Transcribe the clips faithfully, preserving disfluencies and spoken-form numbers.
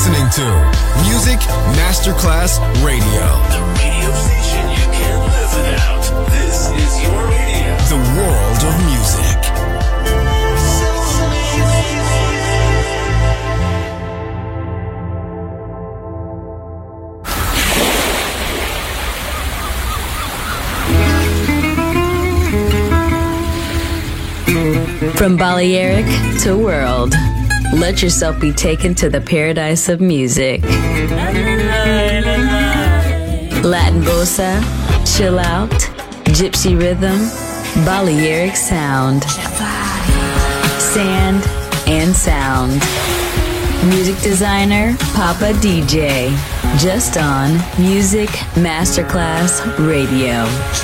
listening to Music Masterclass Radio. The radio station you can't live without. This is your radio. The world of music. From Balearic to world, let yourself be taken to the paradise of music. Latin bossa, chill out, gypsy rhythm, Balearic sound, sand and sound. Music designer, Papa D J, just on Music Masterclass Radio.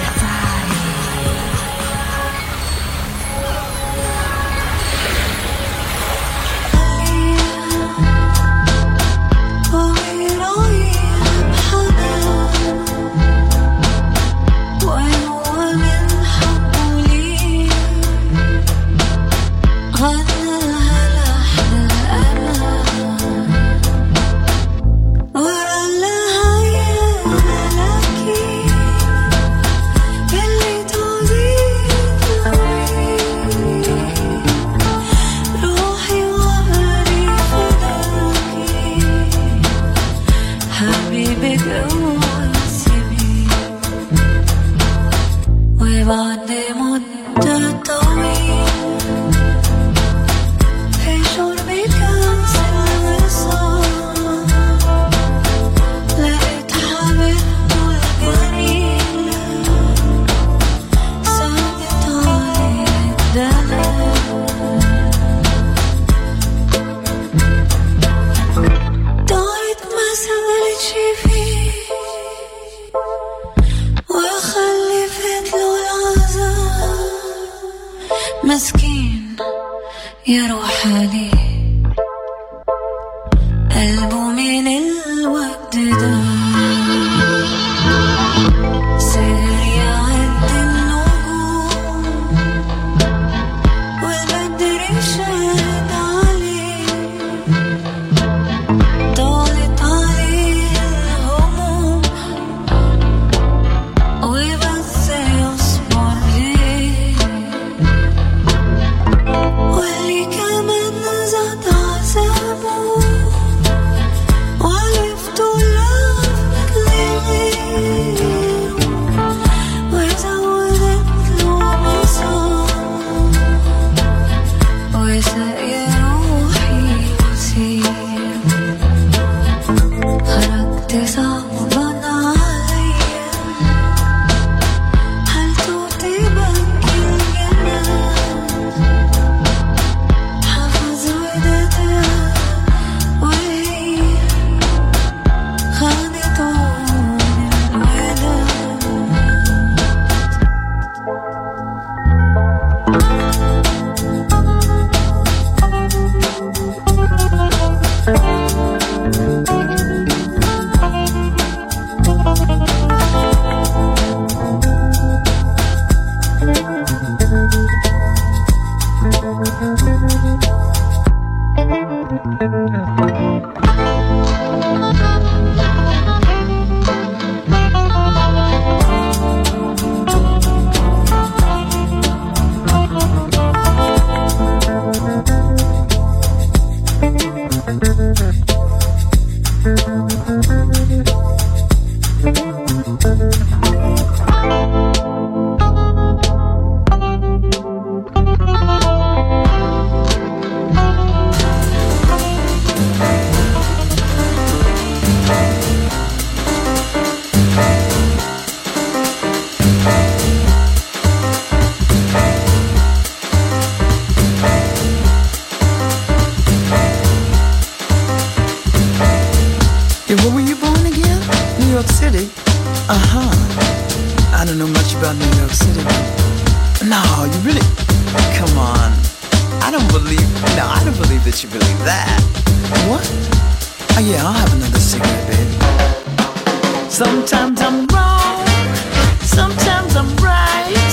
Sometimes I'm wrong, sometimes I'm right.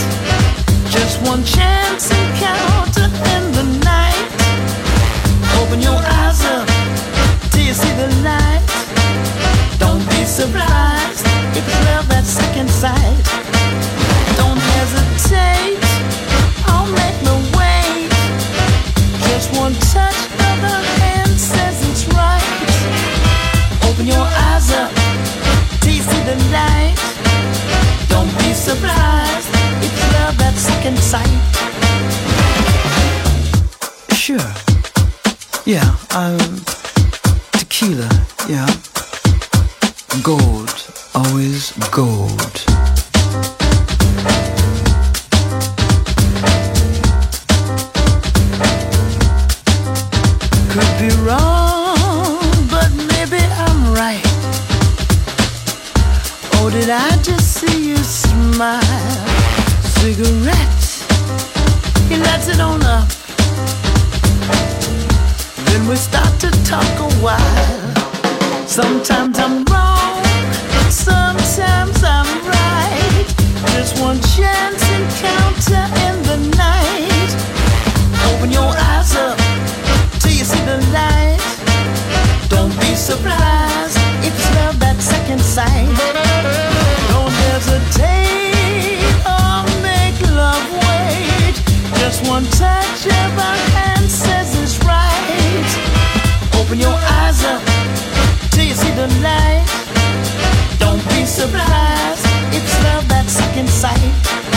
Just one chance encounter in the night. Open your eyes up till you see the light. surprised if it's love at second sight. Don't hesitate, I'll make no wait. Just one touch of the hand says it's right. Open your eyes up till you see the light. Don't be surprised, it's love at second sight. Sure. Yeah, um, tequila, yeah. Gold, always gold. Could be wrong, but maybe I'm right. Oh, did I just see you smile? Cigarette, he lights it on up. Then we start to talk a while. Sometimes I'm wrong, sometimes I'm right. Just one chance encounter in the night. Open your eyes up till you see the light. Don't be surprised if it's love at second sight. Don't hesitate or make love wait. Just one touch of our hand says it's right. Open your eyes up till you see the light. Don't be surprised, it's love at second sight.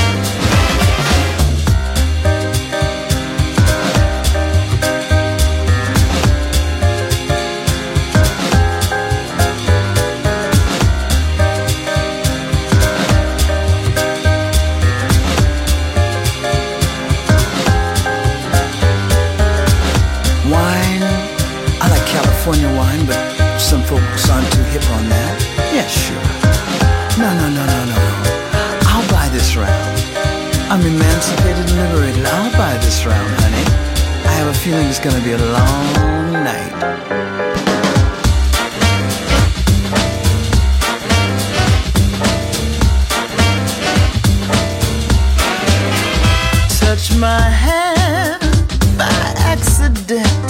California wine, but some folks aren't too hip on that. Yeah, sure. No, no, no, no, no, no. I'll buy this round. I'm emancipated and liberated. I'll buy this round, honey. I have a feeling it's gonna be a long night. Touch my hand by accident,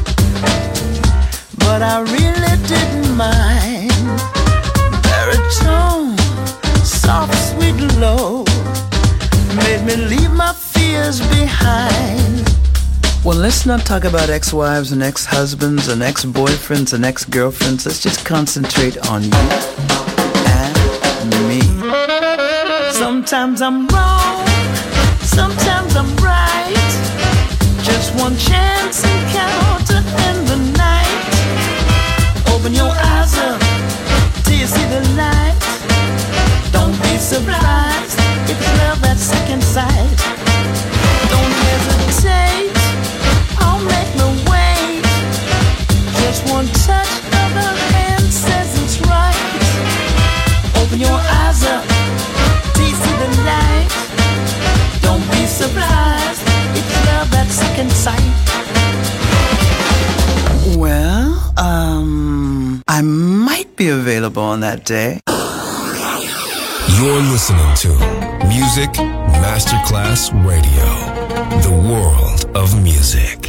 but I really didn't mind. Baritone, soft, sweet, low, made me leave my fears behind. Well, let's not talk about ex-wives and ex-husbands and ex-boyfriends and ex-girlfriends. Let's just concentrate on you and me. Sometimes I'm wrong, sometimes I'm right. Just one chance encounter in the night. Open your eyes up till you see the light. Don't be surprised if it's love at second sight. Don't hesitate, I'll make no wait. Just one touch of her hand says it's right. Open your eyes up till you see the light. Don't be surprised, it's love at second sight. Well, um, I might be available on that day. You're listening to Music Masterclass Radio, the world of music.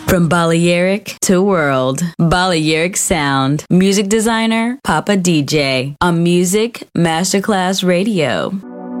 From Balearic to World, Balearic Sound. Music designer, Papa D J. On Music Masterclass Radio.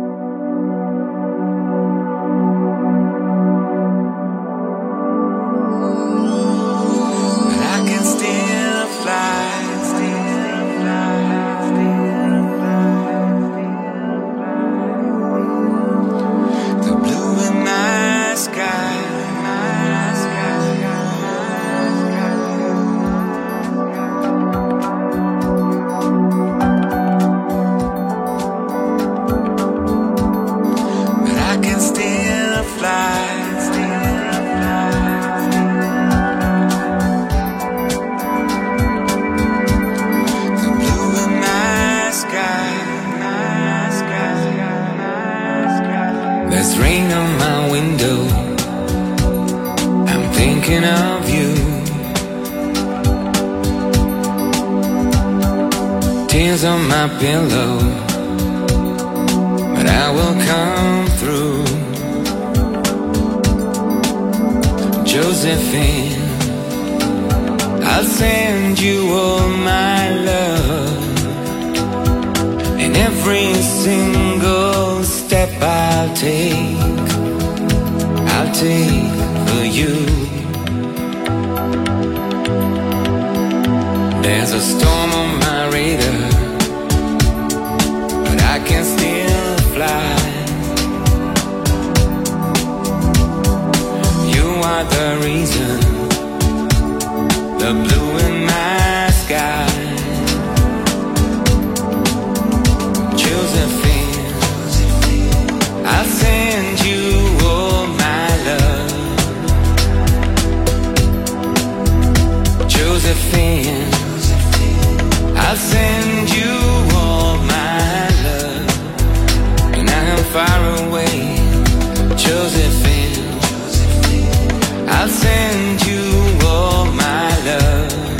Pillow, but I will come through. Josephine, I'll send you all my love, and every single step I'll take, I'll take for you. There's a storm on my radar, I can still fly. You are the reason, the blue in my sky. Josephine, I'll send you all my love. Josephine, I'll send you all my love. Far away, Josephine, I'll send you all my love.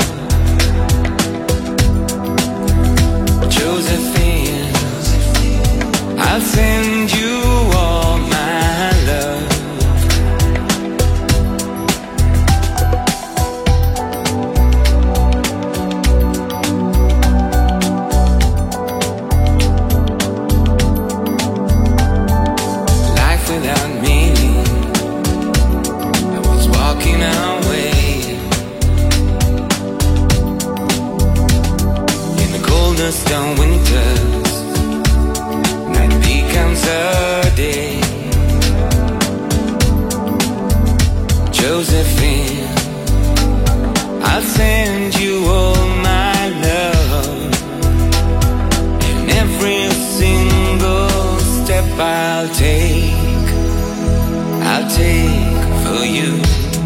Josephine, I'll send you all my love. Stone winters, night becomes a day. Josephine, I'll send you all my love, and every single step I'll take, I'll take for you.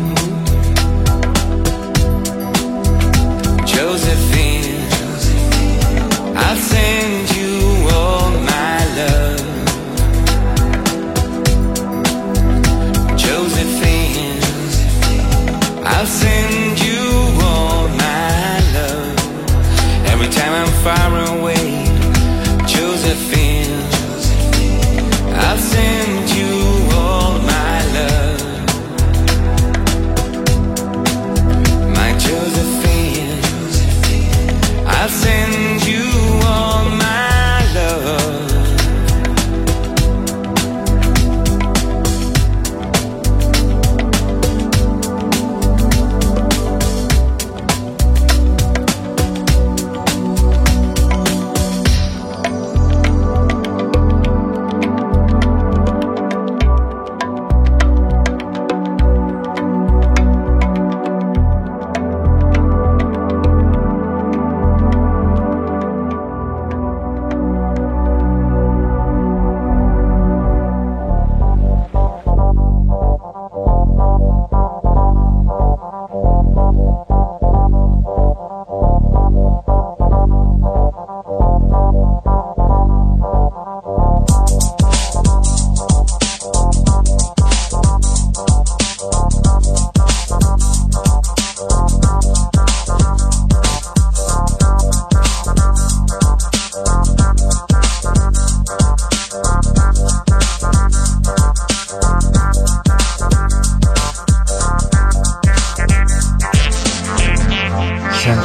Josephine, I'll send you all my love. Josephine, I'll send you all my love. Every time I'm far away, Josephine, I'll send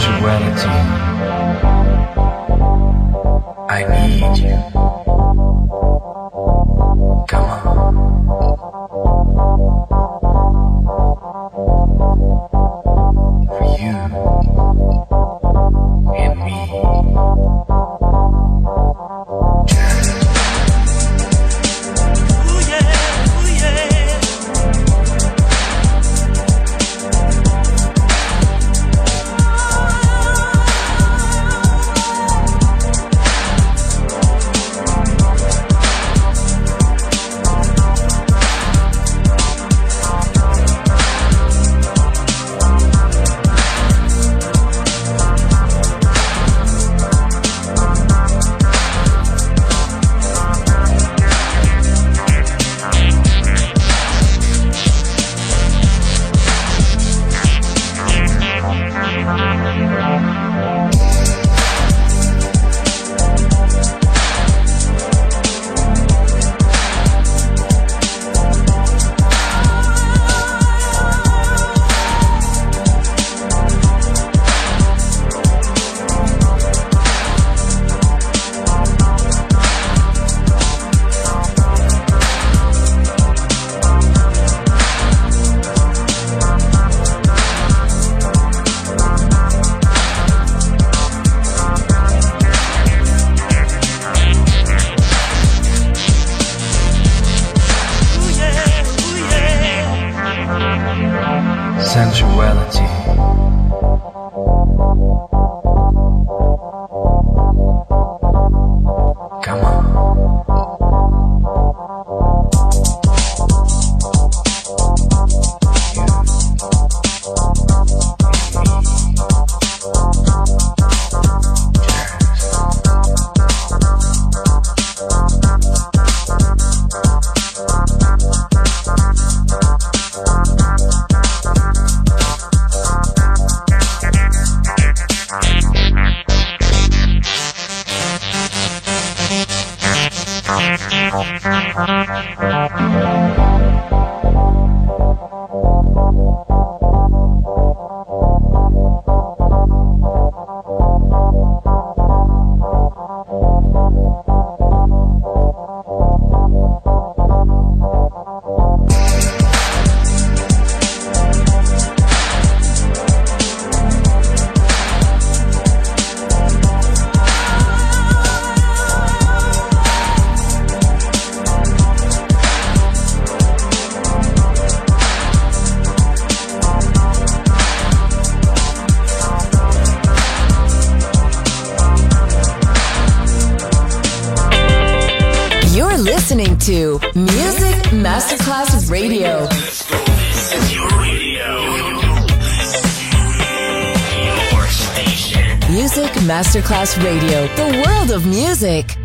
sensuality. I need you. Come on. For you and me. Ooh yeah, ooh yeah. Sensuality. Come on. Listening to Music Masterclass Radio. This is your radio. Your station. Music Masterclass Radio. The world of music.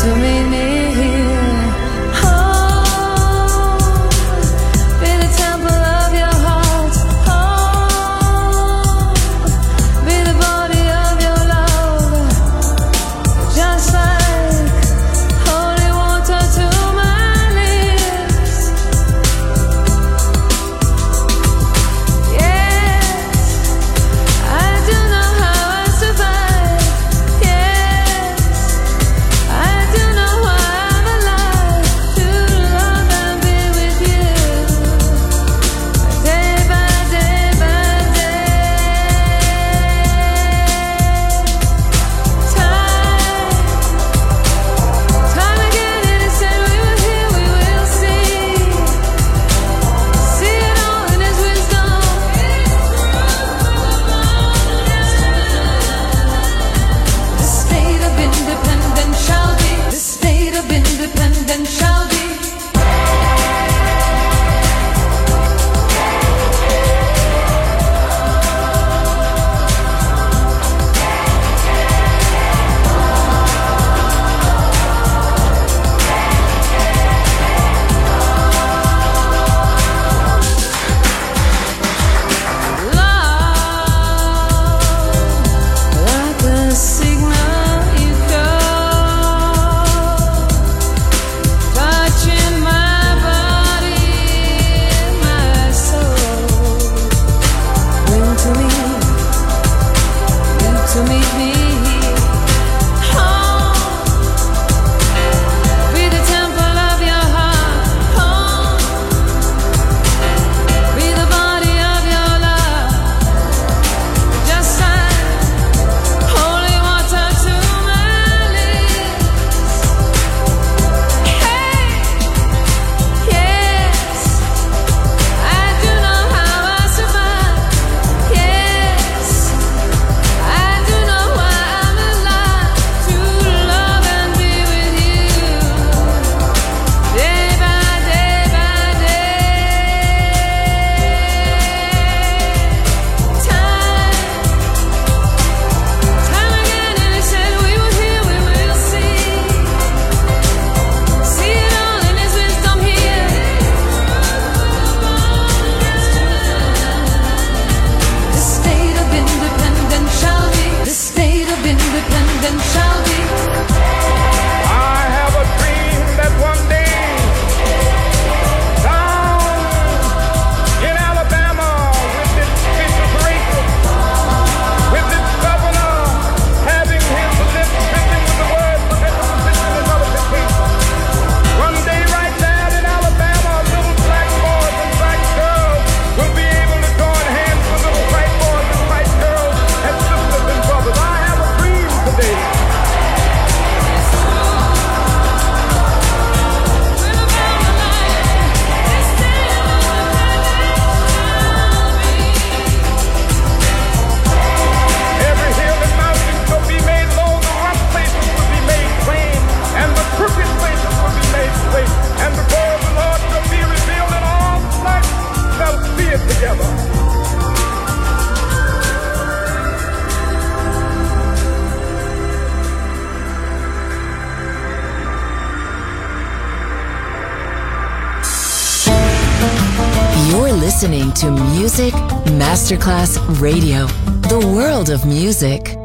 listening to Music Masterclass Radio, the world of music.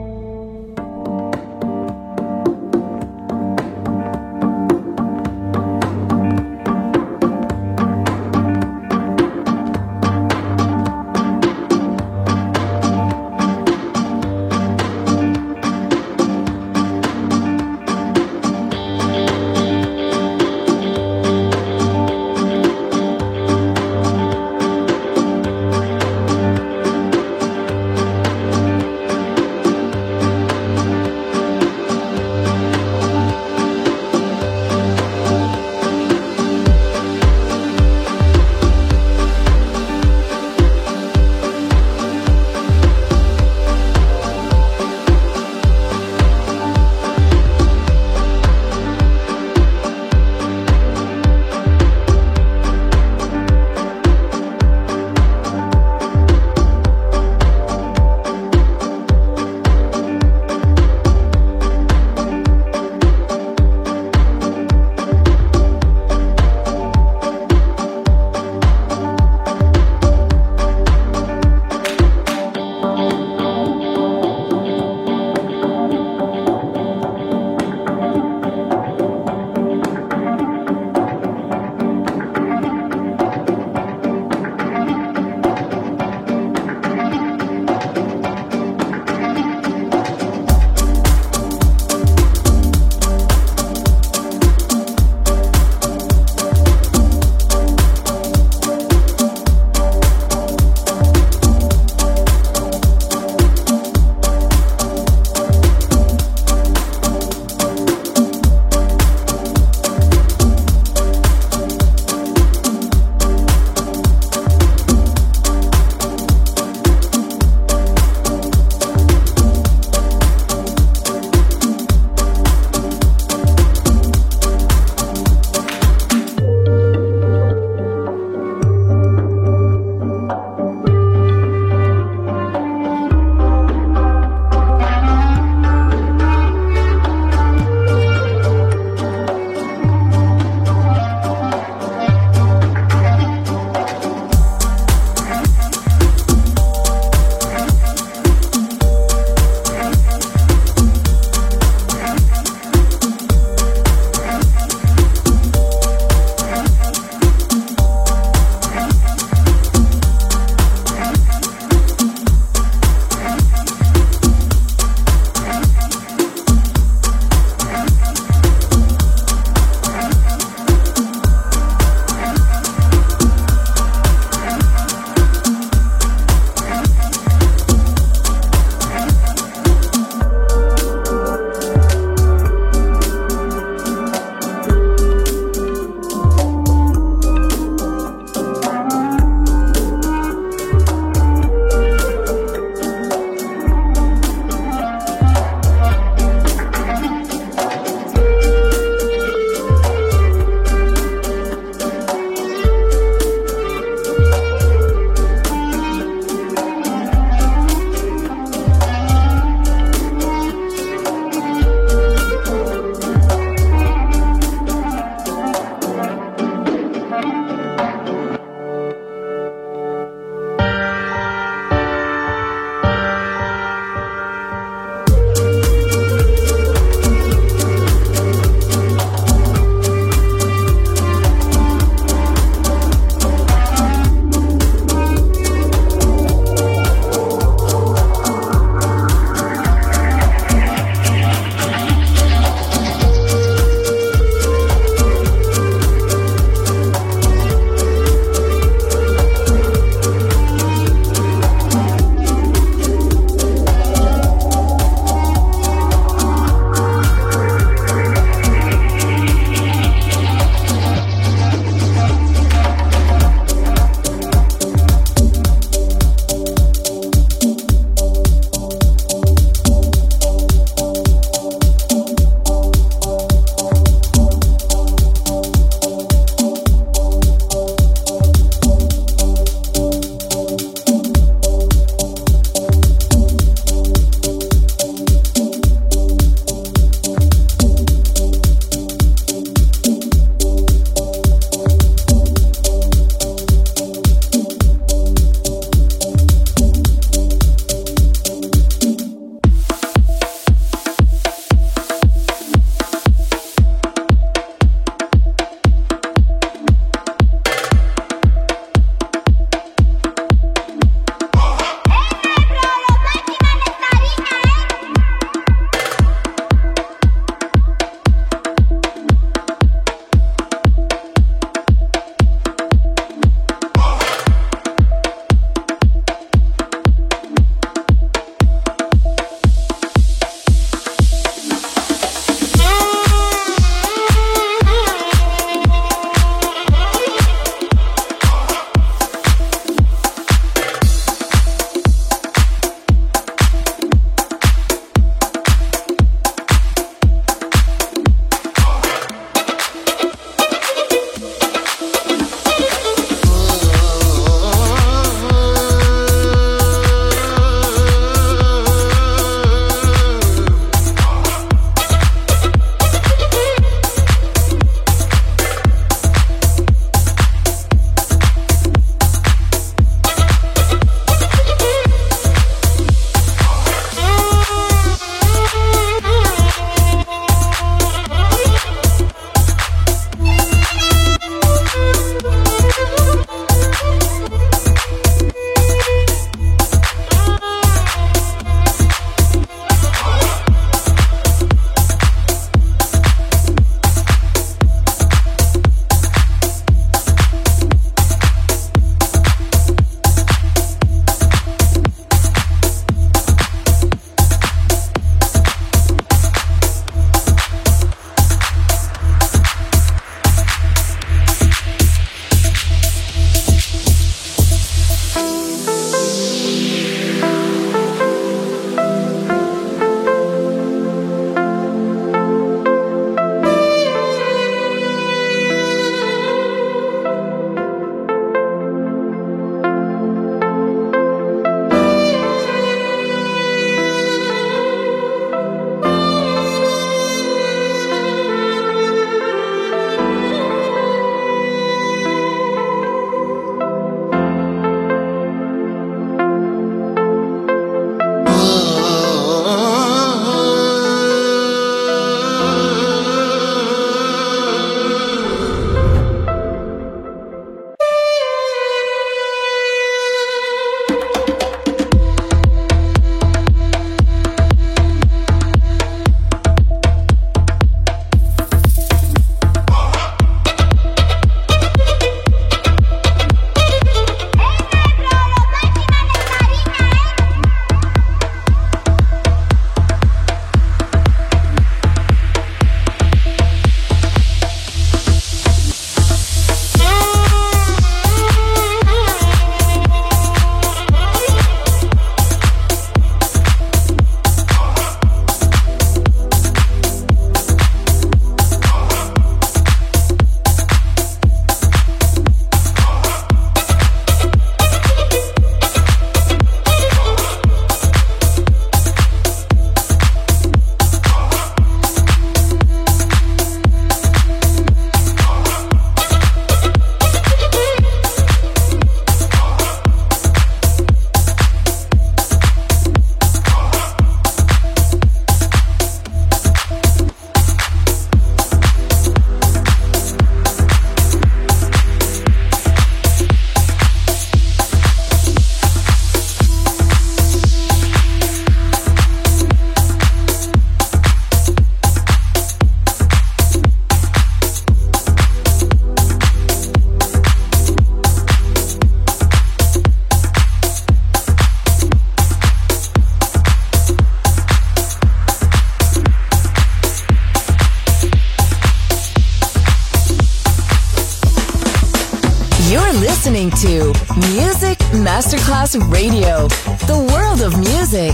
You're listening to Music Masterclass Radio, the world of music.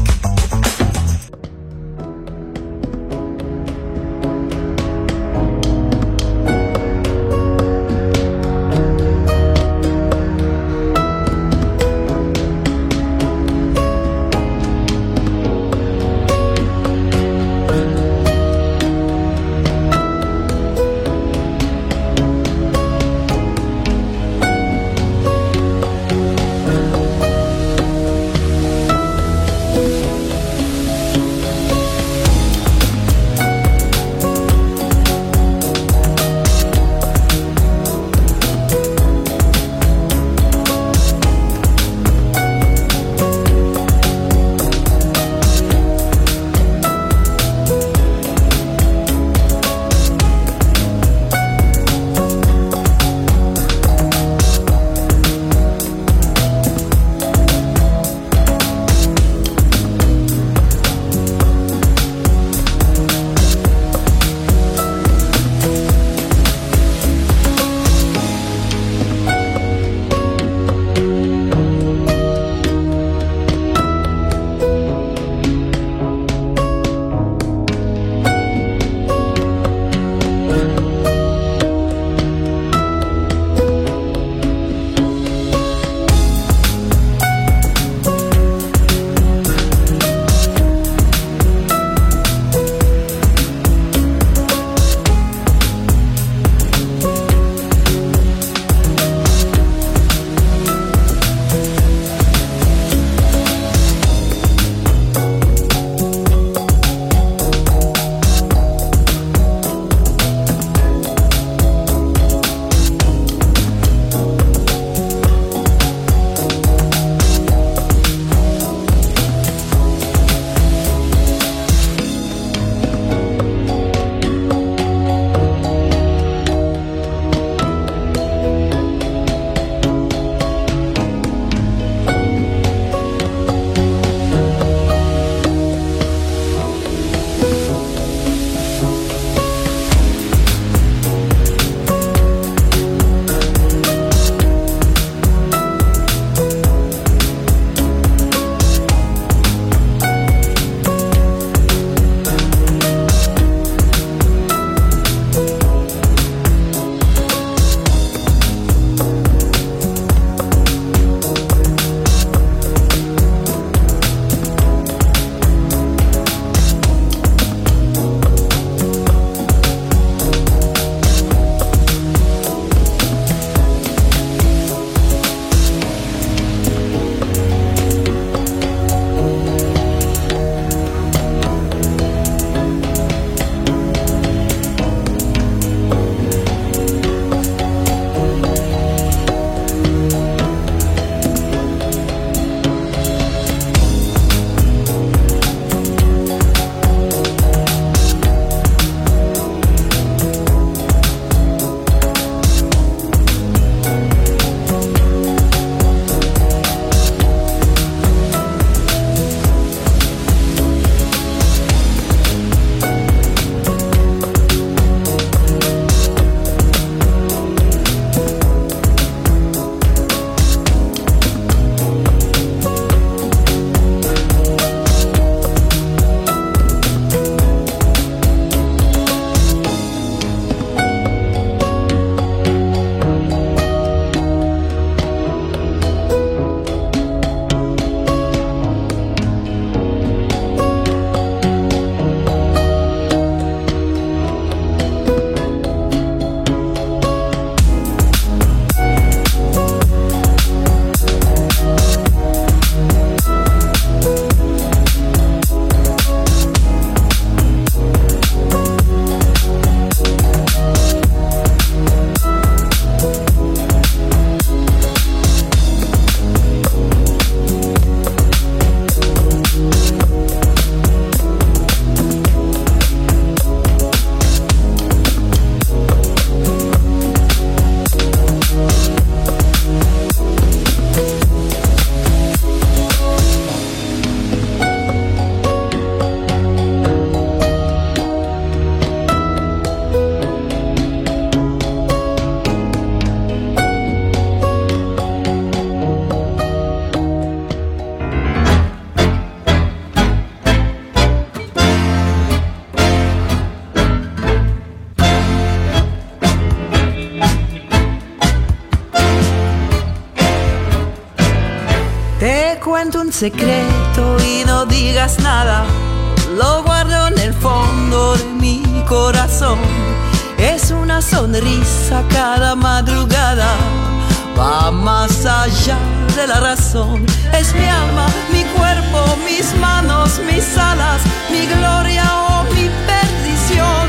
cuento un secreto y no digas nada. Lo guardo en el fondo de mi corazón. Es una sonrisa cada madrugada. Va más allá de la razón. Es mi alma, mi cuerpo, mis manos, mis alas, mi gloria o mi perdición.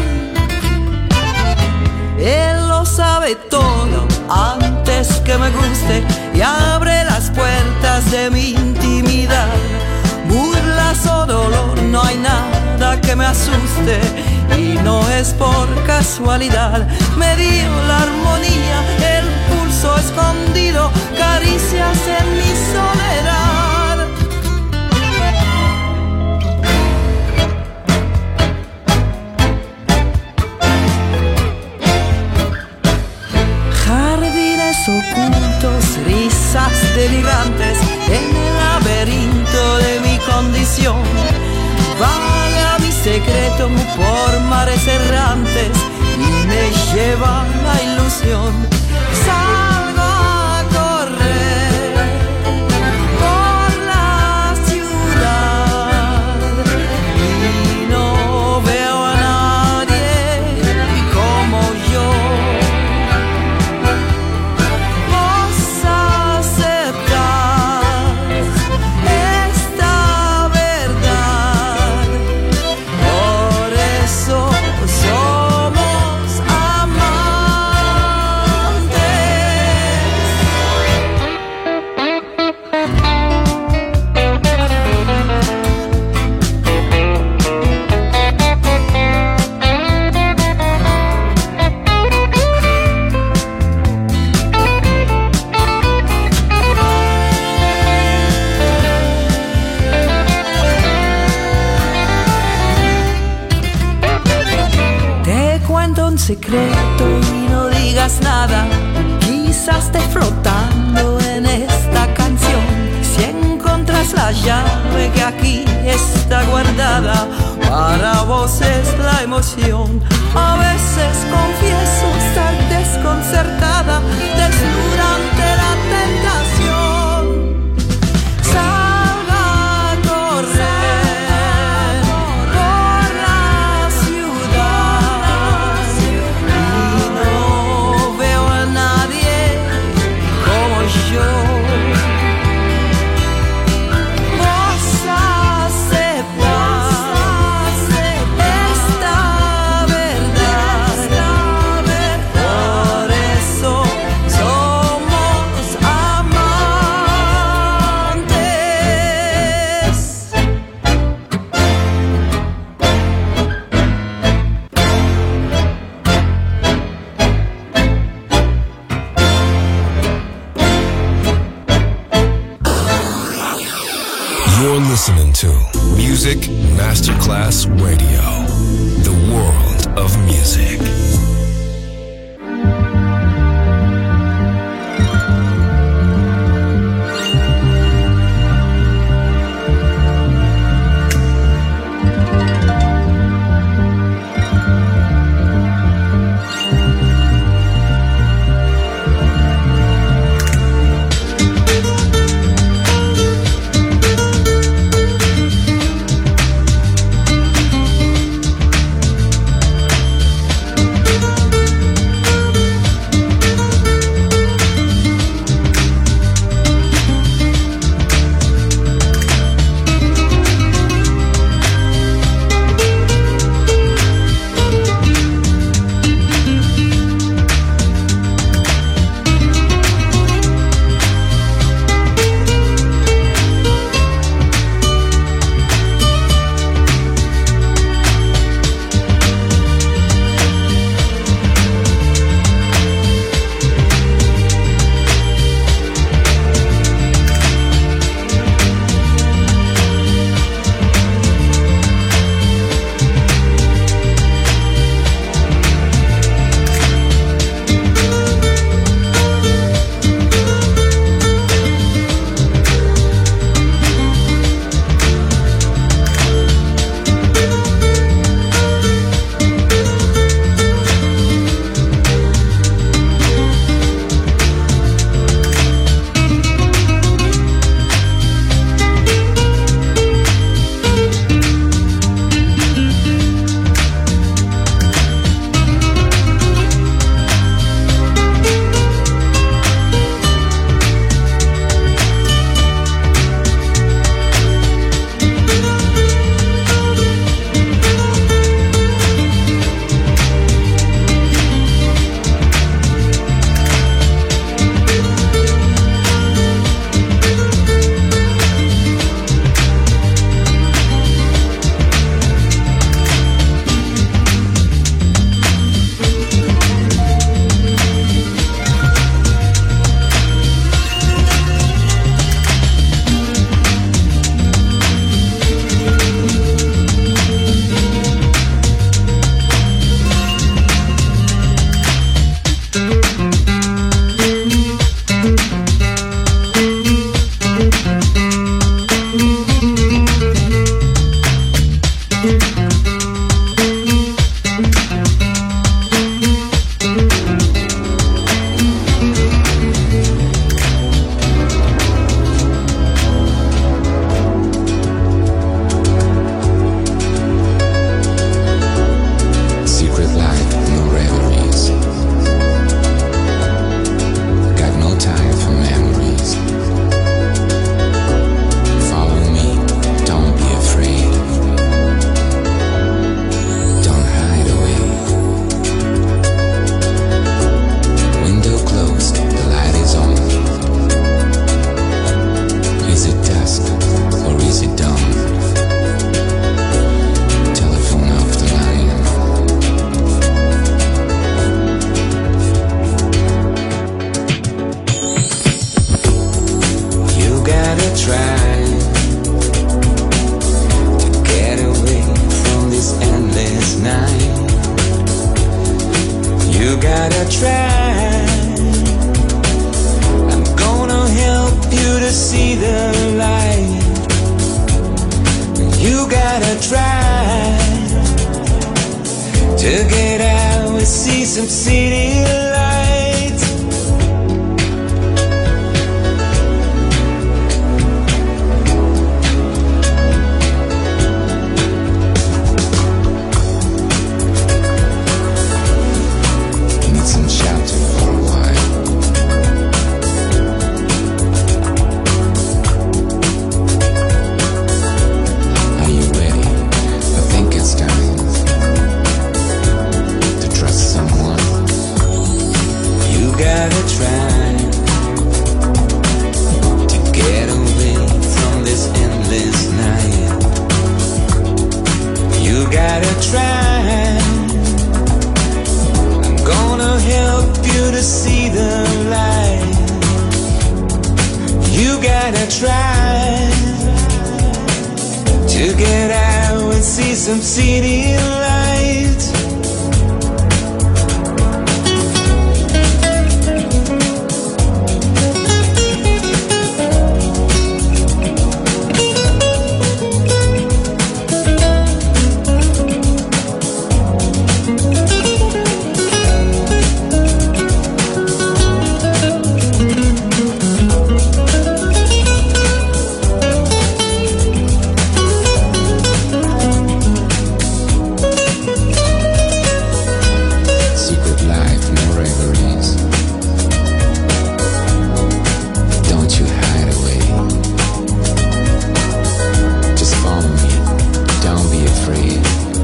Él lo sabe todo antes que me guste y abre las puertas de mi intimidad. Burlas o dolor, no hay nada que me asuste y no es por casualidad. Me dio la armonía, el pulso escondido, caricias en mi soledad. Jardines ocultos, risas delirantes en el laberinto de mi condición. Vaga mi secreto por mares errantes y me lleva la ilusión. Salgo a correr por la ciudad y no veo a nadie como yo. Vos aceptás esta verdad, por eso somos amantes. Te cuento un secreto y no digas nada. Quizás esté flotando en esta canción. Si encontras la llave que aquí está guardada, para vos es la emoción. A veces confieso estar desconcertada, desnuda ante la tentación. Salga a correr por la ciudad y no veo a nadie como yo. Vos aceptás esta verdad, por eso somos amantes. You're listening to Music Masterclass Radio, the world of music. try to get out and see some city lights. Need some shelter for a while. Are you ready? I think it's time to trust someone. You gotta try to get away from this endless night. You gotta try. I'm gonna help you to see the light. You gotta try to get out and see some city lights. Secret life, no reveries. Don't you hide away. Just follow me. Don't be afraid.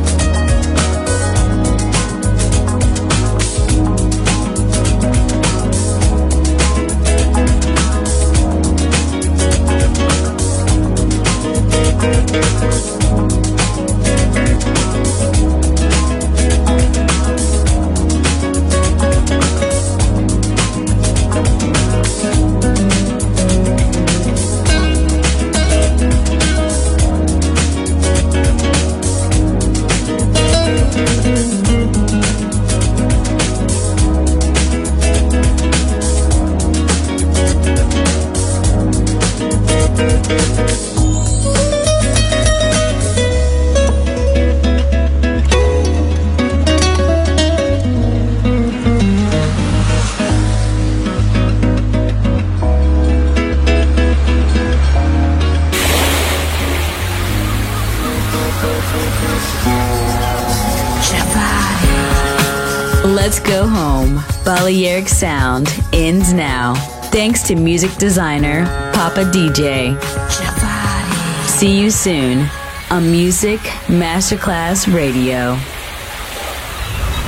Let's go home. Balearic Sound ends now. Thanks to music designer Papa D J. See you soon on Music Masterclass Radio.